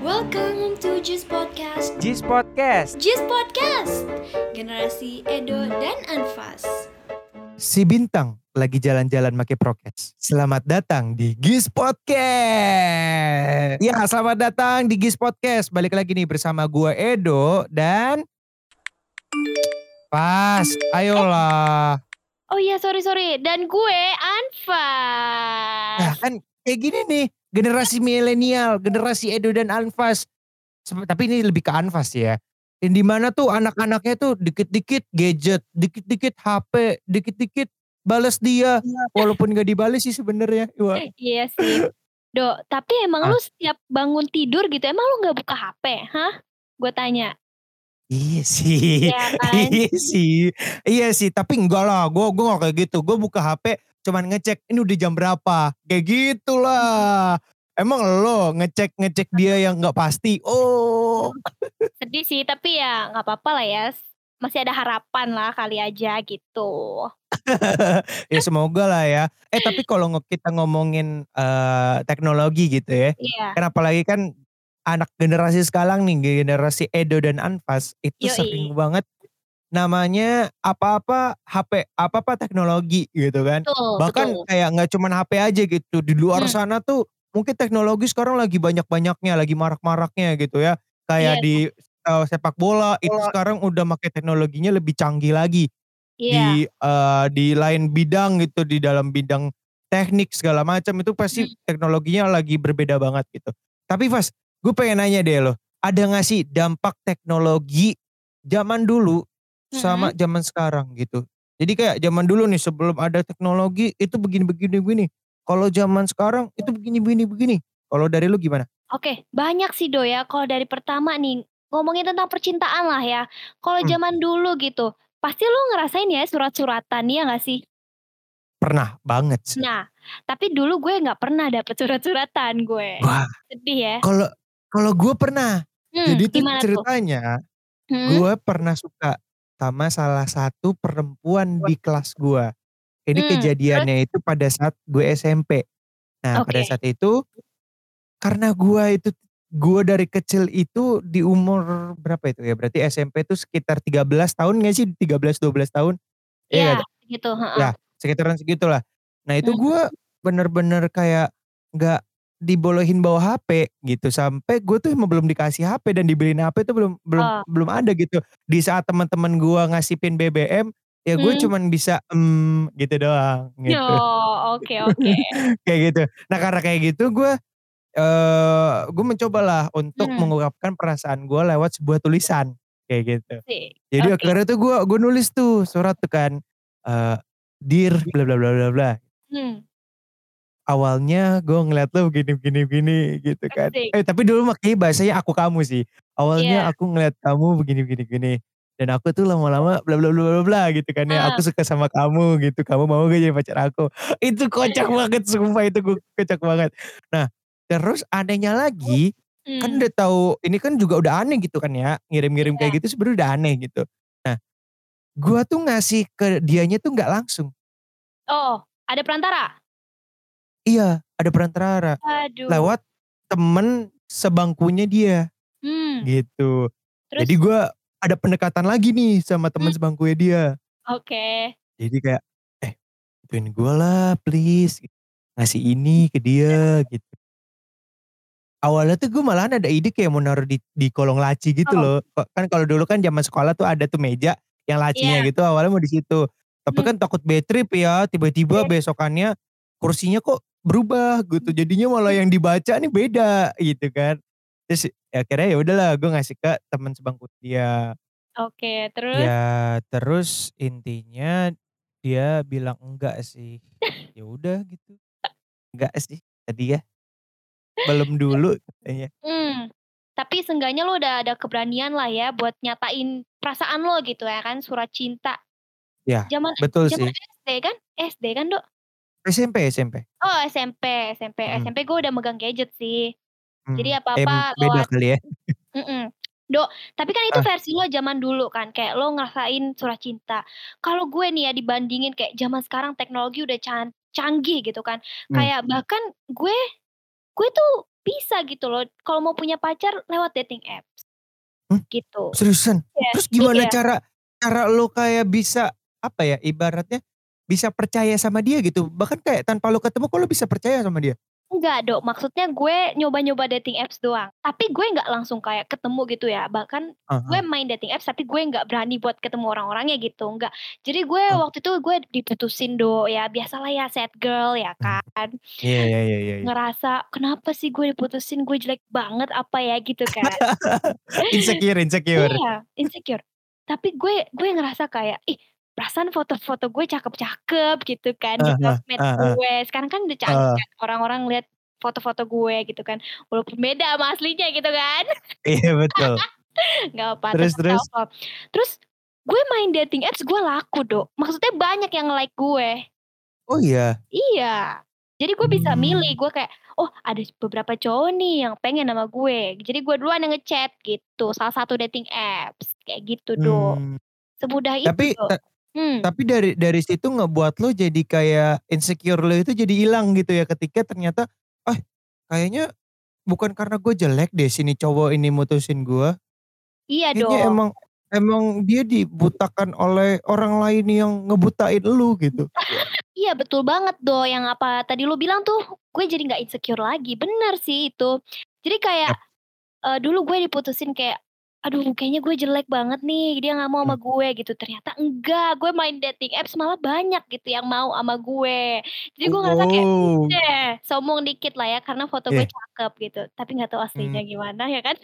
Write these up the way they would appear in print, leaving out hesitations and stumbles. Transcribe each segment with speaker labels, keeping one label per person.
Speaker 1: Welcome to Jis Podcast.
Speaker 2: Jis Podcast.
Speaker 1: Jis Podcast. Generasi Edo dan Anfas.
Speaker 2: Si Bintang lagi jalan-jalan make prokes. Selamat datang di Gis Podcast. Ya, selamat datang di Gis Podcast. Balik lagi nih bersama gua Edo dan Pas. Ayolah.
Speaker 3: Oh iya, sorry. Dan gue
Speaker 2: Nah,
Speaker 3: Anfas.
Speaker 2: kan kayak gini nih. Generasi milenial, generasi Edo dan Anfas. Tapi ini lebih ke Anfas ya. Yang dimana tuh anak-anaknya tuh dikit-dikit gadget, dikit-dikit HP, dikit-dikit bales dia. Walaupun gak dibales sih sebenarnya.
Speaker 3: Iya sih. Dok, tapi emang
Speaker 2: Ah.
Speaker 3: lu setiap bangun tidur gitu, emang lu gak buka HP? Hah? Gue tanya.
Speaker 2: Iya sih.
Speaker 3: Iya kan?
Speaker 2: Iya sih, tapi enggak lah. Gue gak kayak gitu. Gue buka HP cuman ngecek ini udah jam berapa. Kayak gitulah. Emang lo ngecek dia yang gak pasti. Oh.
Speaker 3: Sedih sih, tapi ya gak apa-apa lah ya. Masih ada harapan lah kali aja gitu.
Speaker 2: Ya semoga lah ya. Tapi kalau kita ngomongin teknologi gitu ya.
Speaker 3: Iya.
Speaker 2: Kan apalagi kan anak generasi sekarang nih, generasi Edo dan Anfas itu sering
Speaker 3: Yoi.
Speaker 2: banget namanya apa-apa HP, apa-apa teknologi gitu kan. Bahkan
Speaker 3: Betul.
Speaker 2: kayak gak cuman HP aja gitu. Di luar
Speaker 3: Hmm.
Speaker 2: sana tuh mungkin teknologi sekarang lagi banyak-banyaknya, lagi marak-maraknya gitu ya.
Speaker 3: Iya.
Speaker 2: Kayak di sepak bola itu sekarang udah pakai teknologinya lebih canggih lagi.
Speaker 3: Iya.
Speaker 2: Di lain bidang gitu, di dalam bidang teknik segala macam itu pasti teknologinya lagi berbeda banget gitu. Tapi Fas, gue pengen nanya deh lo, ada gak sih dampak teknologi zaman dulu sama zaman sekarang gitu? Jadi kayak zaman dulu nih sebelum ada teknologi itu begini. Kalau zaman sekarang itu begini. Kalau dari lu gimana?
Speaker 3: Oke, banyak sih Do ya. Kalau dari pertama nih, ngomongin tentang percintaan lah ya. Kalau
Speaker 2: Hmm,
Speaker 3: zaman dulu gitu, pasti lu ngerasain ya surat-suratan, ya gak sih?
Speaker 2: pernah banget sih.
Speaker 3: Nah, tapi dulu gue nggak pernah dapet surat-suratan gue.
Speaker 2: Wah,
Speaker 3: Sedih ya.
Speaker 2: kalau gue pernah. Jadi tuh
Speaker 3: Gimana tuh?
Speaker 2: ceritanya
Speaker 3: Hmm?
Speaker 2: gue pernah suka sama salah satu perempuan di kelas gue. Ini
Speaker 3: Terus?
Speaker 2: kejadiannya itu pada saat gue SMP. Nah, pada
Speaker 3: Oke.
Speaker 2: saat itu karena gue dari kecil itu di umur berapa itu ya? Berarti SMP itu sekitar 13 tahun gak sih? 13-12 tahun? Iya
Speaker 3: Iya,
Speaker 2: gak?
Speaker 3: gitu, heeh.
Speaker 2: Ya, sekitaran segitulah. Nah itu
Speaker 3: Mhm.
Speaker 2: gue bener-bener kayak gak dibolehin bawa HP gitu. Sampai gue tuh emang belum dikasih HP dan dibeliin HP itu belum belum
Speaker 3: Oh.
Speaker 2: belum ada gitu. Di saat teman-teman gue ngasih pin BBM, ya gue
Speaker 3: Mmm.
Speaker 2: cuman bisa gitu doang gitu.
Speaker 3: Oh, oke.
Speaker 2: Kayak gitu. Nah karena kayak gitu gue mencobalah untuk
Speaker 3: Mmm.
Speaker 2: mengungkapkan perasaan gue lewat sebuah tulisan kayak gitu.
Speaker 3: Asik.
Speaker 2: Jadi
Speaker 3: Oke.
Speaker 2: akhirnya tuh gue nulis tuh surat tuh kan, dear bla bla bla bla bla.
Speaker 3: Mmm.
Speaker 2: Awalnya gue ngeliat lo begini gitu kan.
Speaker 3: Asik.
Speaker 2: Tapi dulu makanya bahasanya aku kamu sih. Awalnya
Speaker 3: Iya.
Speaker 2: aku ngeliat kamu begini. Dan aku tuh lama-lama bla bla bla bla bla gitu kan ya.
Speaker 3: Heeh.
Speaker 2: Aku suka sama kamu gitu. Kamu mau gak jadi pacar aku? Itu kocak banget sumpah itu gue kocak banget. Nah terus anehnya lagi, kan
Speaker 3: Mmm.
Speaker 2: udah tahu ini kan juga udah aneh gitu kan ya. Ngirim-ngirim
Speaker 3: Iya.
Speaker 2: kayak gitu sebenarnya udah aneh gitu. Nah gue tuh ngasih ke dianya tuh gak langsung.
Speaker 3: Oh, ada perantara?
Speaker 2: Iya, ada perantara.
Speaker 3: Aduh.
Speaker 2: Lewat temen sebangkunya dia,
Speaker 3: Mmm.
Speaker 2: gitu. Jadi
Speaker 3: Terus?
Speaker 2: gue ada pendekatan lagi nih sama temen
Speaker 3: Mmm.
Speaker 2: sebangkunya dia.
Speaker 3: Oke.
Speaker 2: Jadi kayak, bantuin gue lah please, ngasih ini ke dia gitu. Awalnya tuh gue malahan ada ide kayak mau naruh di kolong laci gitu
Speaker 3: Oh.
Speaker 2: loh. Kan kalau dulu kan zaman sekolah tuh ada tuh meja yang lacinya
Speaker 3: Iya.
Speaker 2: gitu awalnya mau di situ. Tapi
Speaker 3: Mmm.
Speaker 2: kan takut bad trip ya, tiba-tiba besokannya kursinya kok berubah gitu. Jadinya malah yang dibaca nih beda gitu kan. Terus ya akhirnya ya udahlah gue ngasih ke teman sebangku dia.
Speaker 3: Oke, terus?
Speaker 2: Ya terus intinya dia bilang enggak sih. Ya udah gitu. Enggak sih tadi ya. Belum dulu katanya.
Speaker 3: Mmm. Tapi seenggaknya lo udah ada keberanian lah ya buat nyatain perasaan lo gitu ya kan, surat cinta.
Speaker 2: Ya,
Speaker 3: Zaman
Speaker 2: betul
Speaker 3: zaman
Speaker 2: sih.
Speaker 3: SD kan? SD kan, Dok?
Speaker 2: SMP.
Speaker 3: Oh, SMP gue udah megang gadget sih. Jadi apa-apa
Speaker 2: Beda
Speaker 3: lewat
Speaker 2: kali ya?
Speaker 3: mhm. Dok, tapi kan itu
Speaker 2: Ah,
Speaker 3: versi lo zaman dulu kan, kayak lo ngerasain surat cinta. Kalau gue nih ya dibandingin kayak zaman sekarang teknologi udah canggih gitu kan.
Speaker 2: mmm,
Speaker 3: Kayak bahkan gue tuh bisa gitu loh. Kalau mau punya pacar lewat dating apps
Speaker 2: Hmm,
Speaker 3: gitu.
Speaker 2: seriusan?
Speaker 3: Iya,
Speaker 2: Terus gimana
Speaker 3: iya.
Speaker 2: cara cara lo kayak bisa apa ya ibaratnya bisa percaya sama dia gitu? Bahkan kayak tanpa lo ketemu kok lo bisa percaya sama dia?
Speaker 3: Enggak, Dok, maksudnya gue nyoba-nyoba dating apps doang, tapi gue nggak langsung kayak ketemu gitu ya, bahkan gue
Speaker 2: Heeh,
Speaker 3: main dating apps tapi gue nggak berani buat ketemu orang-orangnya gitu, enggak. Jadi gue
Speaker 2: heeh.
Speaker 3: waktu itu gue diputusin, Dok, ya biasalah ya sad girl ya
Speaker 2: Mmm,
Speaker 3: kan.
Speaker 2: iya iya iya iya iya.
Speaker 3: Ngerasa, "Kenapa sih gue diputusin, gue jelek banget apa ya?" Gitu kan.
Speaker 2: Insecure insecure.
Speaker 3: Iya, insecure. Tapi gue ngerasa kayak, "Ih, perasaan foto-foto gue cakep-cakep," gitu kan di
Speaker 2: Heeh heeh,
Speaker 3: sosmed
Speaker 2: heeh heeh,
Speaker 3: gue. Sekarang kan udah canggih
Speaker 2: heeh.
Speaker 3: kan, orang-orang lihat foto-foto gue gitu kan, walaupun beda sama aslinya gitu kan.
Speaker 2: Iya betul.
Speaker 3: Nggak apa,
Speaker 2: Terus
Speaker 3: tetap
Speaker 2: terus?
Speaker 3: self love. Terus gue main dating apps, gue laku, Dok. Maksudnya banyak yang like gue.
Speaker 2: Oh iya?
Speaker 3: Iya. Jadi gue bisa milih,
Speaker 2: Mmm,
Speaker 3: gue kayak, "Oh, ada beberapa cowok nih yang pengen sama gue." Jadi gue duluan yang nge-chat gitu, salah satu dating apps, kayak gitu, Dok.
Speaker 2: mmm.
Speaker 3: Semudah itu,
Speaker 2: Tapi
Speaker 3: Dok. Hmm.
Speaker 2: tapi dari situ ngebuat lo jadi kayak insecure lo itu jadi hilang gitu ya ketika ternyata, "Ah, kayaknya bukan karena gue jelek deh sini cowok ini mutusin gue,
Speaker 3: Iya
Speaker 2: kayaknya
Speaker 3: dong.
Speaker 2: emang emang dia dibutakan oleh orang lain yang ngebutain elu," gitu.
Speaker 3: Iya betul banget yang apa tadi lu bilang tuh, gue jadi nggak insecure lagi, bener sih itu. Jadi kayak,
Speaker 2: Yap,
Speaker 3: dulu gue diputusin kayak, aduh kayaknya gue jelek banget nih, dia nggak mau
Speaker 2: mmm.
Speaker 3: sama gue gitu, ternyata enggak, gue main dating apps malah banyak gitu yang mau sama gue. Jadi gue ngerasa kayak,
Speaker 2: Oh,
Speaker 3: deh, sombong dikit lah ya karena foto gue
Speaker 2: iya,
Speaker 3: cakep gitu, tapi nggak tahu
Speaker 2: mmm.
Speaker 3: aslinya gimana ya kan.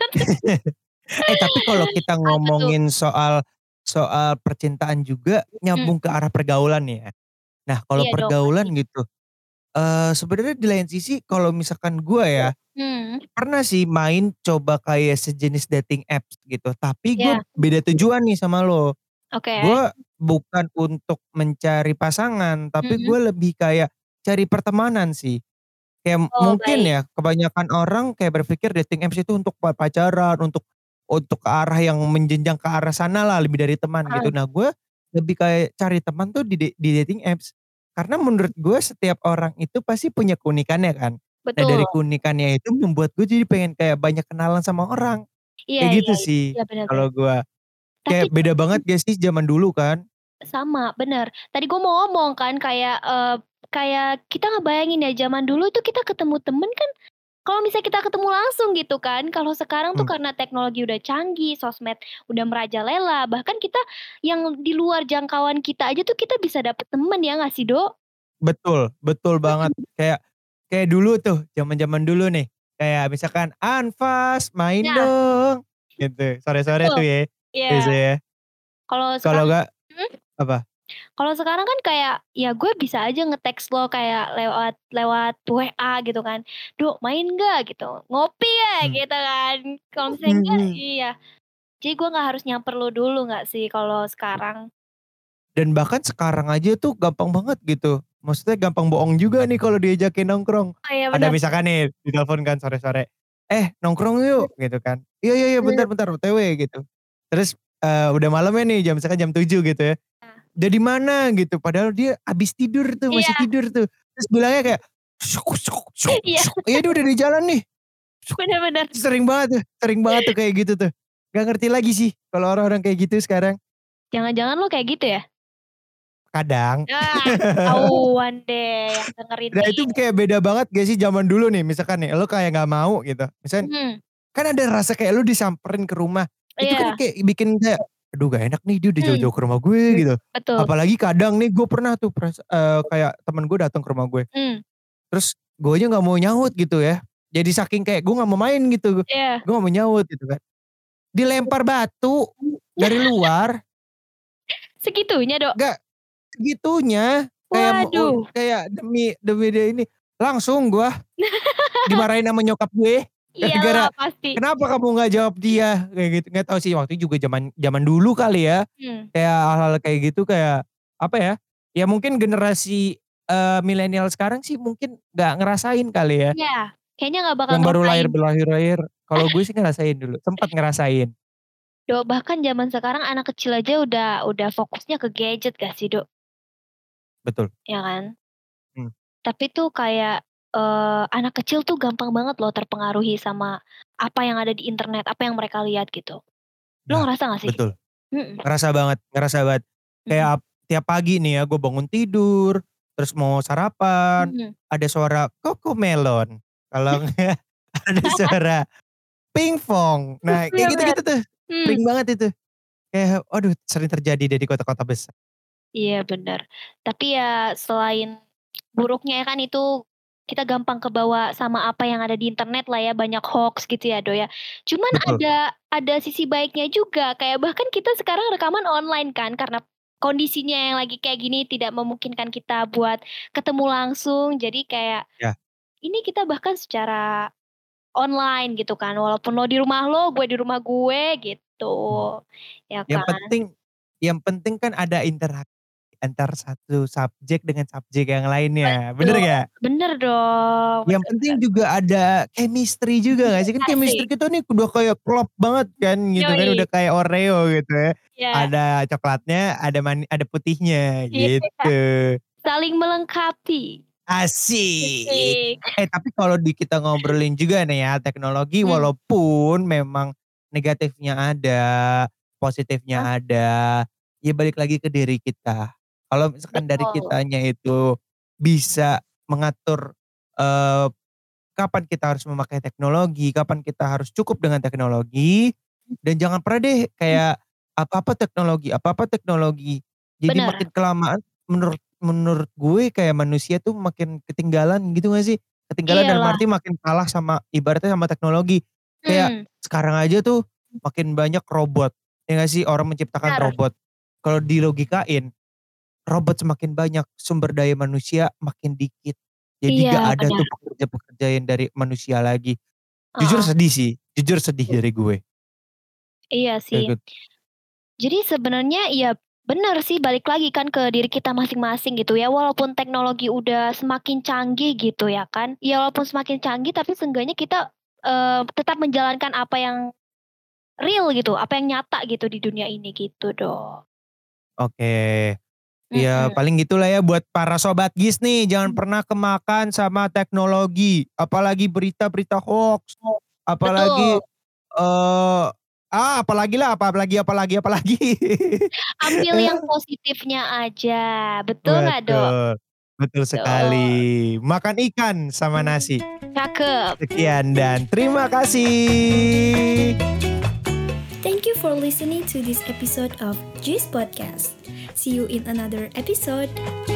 Speaker 2: Tapi kalau kita
Speaker 3: Apa tuh?
Speaker 2: ngomongin soal soal percintaan juga
Speaker 3: Mhm,
Speaker 2: nyambung ke arah pergaulan ya. Nah kalau
Speaker 3: iya dong pasti.
Speaker 2: pergaulan gitu, sebenarnya di lain sisi kalau misalkan gua ya,
Speaker 3: Hmm,
Speaker 2: pernah sih main coba kayak sejenis dating apps gitu, tapi gue
Speaker 3: iya,
Speaker 2: beda tujuan nih sama lo.
Speaker 3: oke.
Speaker 2: Gue bukan untuk mencari pasangan, tapi
Speaker 3: Mhm.
Speaker 2: gue lebih kayak cari pertemanan sih. Kayak
Speaker 3: Oh
Speaker 2: mungkin
Speaker 3: baik.
Speaker 2: ya kebanyakan orang kayak berpikir dating apps itu untuk pacaran, untuk ke arah yang menjenjang ke arah sana lah lebih dari teman gitu.
Speaker 3: Heeh,
Speaker 2: Nah gue lebih kayak cari teman tuh di dating apps. Karena menurut gue setiap orang itu pasti punya keunikannya kan. Nah
Speaker 3: betul.
Speaker 2: dari keunikannya itu membuat gue jadi pengen kayak banyak kenalan sama orang.
Speaker 3: Iya
Speaker 2: Kayak
Speaker 3: iya
Speaker 2: gitu
Speaker 3: iya,
Speaker 2: sih
Speaker 3: iya bener bener.
Speaker 2: kalau gue.
Speaker 3: Tapi
Speaker 2: Kayak beda banget gak sih zaman dulu kan?
Speaker 3: sama, bener. Tadi gue mau ngomong kan kayak, kayak kita ngebayangin ya zaman dulu tuh kita ketemu temen kan kalau misalnya kita ketemu langsung gitu kan, kalau sekarang tuh
Speaker 2: Mmm,
Speaker 3: karena teknologi udah canggih, sosmed udah merajalela, bahkan kita yang di luar jangkauan kita aja tuh kita bisa dapet temen ya nggak sih, Dok?
Speaker 2: betul, betul banget.
Speaker 3: Mhm.
Speaker 2: Kayak kayak dulu tuh, zaman-zaman dulu nih, kayak misalkan, "Anfas main
Speaker 3: Nah,
Speaker 2: dong," gitu, sore-sore
Speaker 3: betul.
Speaker 2: tuh ya,
Speaker 3: Iya,
Speaker 2: biasanya.
Speaker 3: kalau
Speaker 2: Kalau
Speaker 3: sekarang
Speaker 2: enggak
Speaker 3: mhm?
Speaker 2: apa?
Speaker 3: Kalau sekarang kan kayak, ya gue bisa aja nge-text lo kayak lewat lewat WA gitu kan, "Dok main nggak?" Gitu, "Ngopi ya?"
Speaker 2: Mmm,
Speaker 3: Gitu kan. Kalau misalnya enggak
Speaker 2: mhm.
Speaker 3: iya. Jadi gue nggak harus nyamper lo dulu nggak sih kalau sekarang?
Speaker 2: Dan bahkan sekarang aja tuh gampang banget gitu, maksudnya gampang bohong juga nih kalau diajakin nongkrong.
Speaker 3: Oh iya
Speaker 2: Ada
Speaker 3: bener.
Speaker 2: misalkan nih, ditelepon kan sore-sore, "Eh nongkrong
Speaker 3: Mhm,
Speaker 2: yuk," gitu kan, "Iya iya iya,
Speaker 3: bener.
Speaker 2: bentar bentar, OTW," gitu. Terus, udah malamnya nih misalkan jam 7 gitu ya,
Speaker 3: Nah,
Speaker 2: "Udah di mana?" Gitu, padahal dia habis tidur tuh, masih
Speaker 3: iya
Speaker 2: tidur tuh. Terus bilangnya kayak,
Speaker 3: iya,
Speaker 2: "Iya dia udah di jalan nih."
Speaker 3: bener bener.
Speaker 2: Sering banget tuh kayak gitu tuh. Gak ngerti lagi sih kalau orang-orang kayak gitu sekarang.
Speaker 3: Jangan-jangan lo kayak gitu ya?
Speaker 2: Kadang.
Speaker 3: Ah, ketahuan deh yang dengerin
Speaker 2: Nah
Speaker 3: nih.
Speaker 2: itu kayak beda banget gak sih zaman dulu nih misalkan nih lu kayak gak mau gitu. Misalkan
Speaker 3: Mhm,
Speaker 2: kan ada rasa kayak lu disamperin ke rumah. Itu kan
Speaker 3: iya,
Speaker 2: kayak bikin kayak, aduh gak enak nih dia udah
Speaker 3: mhm,
Speaker 2: jauh-jauh ke rumah gue gitu.
Speaker 3: betul.
Speaker 2: Apalagi kadang nih gue pernah tuh kayak temen gue datang ke rumah gue.
Speaker 3: Mmm,
Speaker 2: Terus gue aja gak mau nyaut gitu ya. Jadi saking kayak gue gak mau main gitu.
Speaker 3: iya.
Speaker 2: Gue gak mau nyaut gitu kan. Dilempar batu dari luar.
Speaker 3: Segitunya, Dok?
Speaker 2: Gak segitunya.
Speaker 3: Waduh.
Speaker 2: Kayak demi demi dia ini. Langsung gue dimarahin sama nyokap gue,
Speaker 3: Iyalah
Speaker 2: gara-gara,
Speaker 3: pasti.
Speaker 2: "Kenapa kamu nggak jawab dia?" Kayak gitu. Nggak tahu sih waktu itu juga zaman zaman dulu kali ya,
Speaker 3: Mmm,
Speaker 2: kayak hal-hal kayak gitu kayak, apa ya, ya mungkin generasi, milenial sekarang sih mungkin nggak ngerasain kali ya,
Speaker 3: iya, kayaknya nggak bakal
Speaker 2: yang baru
Speaker 3: ngerasain.
Speaker 2: lahir. Kalau gue sih ngerasain dulu, sempet ngerasain.
Speaker 3: Dok, bahkan zaman sekarang anak kecil aja udah fokusnya ke gadget gak sih, Dok?
Speaker 2: Betul,
Speaker 3: Ya kan?
Speaker 2: mmm,
Speaker 3: Tapi tuh kayak, anak kecil tuh gampang banget loh terpengaruhi sama apa yang ada di internet, apa yang mereka lihat gitu. Lo
Speaker 2: Nah,
Speaker 3: ngerasa gak sih?
Speaker 2: betul.
Speaker 3: Mhm,
Speaker 2: Ngerasa banget, ngerasa banget.
Speaker 3: mhm,
Speaker 2: Kayak tiap pagi nih ya gue bangun tidur, terus mau sarapan,
Speaker 3: mhm.
Speaker 2: ada suara Cocomelon. Kalau enggak ada suara pingpong. Nah kayak
Speaker 3: Bener,
Speaker 2: gitu-gitu tuh,
Speaker 3: mmm,
Speaker 2: sering banget itu. Kayak aduh sering terjadi deh di kota-kota besar.
Speaker 3: iya bener. Tapi ya selain buruknya kan itu kita gampang kebawa sama apa yang ada di internet lah ya, banyak hoax gitu ya, Do, ya. Cuman
Speaker 2: Betul,
Speaker 3: ada sisi baiknya juga, kayak bahkan kita sekarang rekaman online kan, karena kondisinya yang lagi kayak gini tidak memungkinkan kita buat ketemu langsung, jadi kayak
Speaker 2: ya.
Speaker 3: ini kita bahkan secara online gitu kan, walaupun lo di rumah lo, gue di rumah gue gitu,
Speaker 2: Mmm.
Speaker 3: ya
Speaker 2: Yang
Speaker 3: kan?
Speaker 2: penting yang penting kan ada interaksi antar satu subjek dengan subjek yang lainnya, bener
Speaker 3: Betul,
Speaker 2: gak?
Speaker 3: bener dong,
Speaker 2: Yang
Speaker 3: bener
Speaker 2: penting
Speaker 3: bener.
Speaker 2: juga ada chemistry juga gak sih? Kan chemistry
Speaker 3: Asik,
Speaker 2: kita nih udah kayak klop banget kan gitu kan, udah
Speaker 3: yoi,
Speaker 2: kayak Oreo gitu ya.
Speaker 3: iya,
Speaker 2: Ada coklatnya, ada putihnya
Speaker 3: iya,
Speaker 2: gitu.
Speaker 3: saling melengkapi,
Speaker 2: Asik.
Speaker 3: asik,
Speaker 2: Tapi kalau kita ngobrolin juga nih ya, teknologi
Speaker 3: mhm,
Speaker 2: walaupun memang negatifnya ada, positifnya
Speaker 3: ah,
Speaker 2: ada, ya balik lagi ke diri kita. Kalau misalkan dari
Speaker 3: betul,
Speaker 2: kitanya itu bisa mengatur, eee, kapan kita harus memakai teknologi, kapan kita harus cukup dengan teknologi, dan jangan pernah deh
Speaker 3: mhm,
Speaker 2: kayak apa-apa teknologi. Jadi
Speaker 3: bener,
Speaker 2: makin kelamaan menurut menurut gue kayak manusia tuh makin ketinggalan gitu gak sih? Ketinggalan dalam
Speaker 3: iyalah,
Speaker 2: arti makin kalah sama ibaratnya sama teknologi. Kayak
Speaker 3: mmm,
Speaker 2: sekarang aja tuh makin banyak robot, ya gak sih? Orang menciptakan
Speaker 3: bener,
Speaker 2: robot. Kalau dilogikain, robot semakin banyak, sumber daya manusia makin dikit. Jadi
Speaker 3: iya
Speaker 2: gak ada
Speaker 3: bener,
Speaker 2: tuh pekerja-pekerja yang dari manusia lagi. Jujur
Speaker 3: heeh,
Speaker 2: sedih sih, jujur sedih dari gue.
Speaker 3: iya
Speaker 2: Kayak
Speaker 3: sih.
Speaker 2: gitu.
Speaker 3: Jadi sebenarnya ya bener sih balik lagi kan ke diri kita masing-masing gitu ya, walaupun teknologi udah semakin canggih gitu ya kan, ya walaupun semakin canggih tapi seenggaknya kita, tetap menjalankan apa yang real gitu, apa yang nyata gitu di dunia ini gitu dong.
Speaker 2: Oke. Ya
Speaker 3: Mhm.
Speaker 2: paling gitulah ya buat para sobat GIS nih, jangan pernah kemakan sama teknologi, apalagi berita-berita hoax, apalagi,
Speaker 3: Betul,
Speaker 2: apalagi lah, apalagi.
Speaker 3: ambil yang positifnya aja, betul nggak, Dok?
Speaker 2: Betul, betul sekali.
Speaker 3: Betul,
Speaker 2: Makan ikan sama nasi.
Speaker 3: cakep.
Speaker 2: Sekian dan terima kasih.
Speaker 1: Thank you for listening to this episode of Juice Podcast. See you in another episode.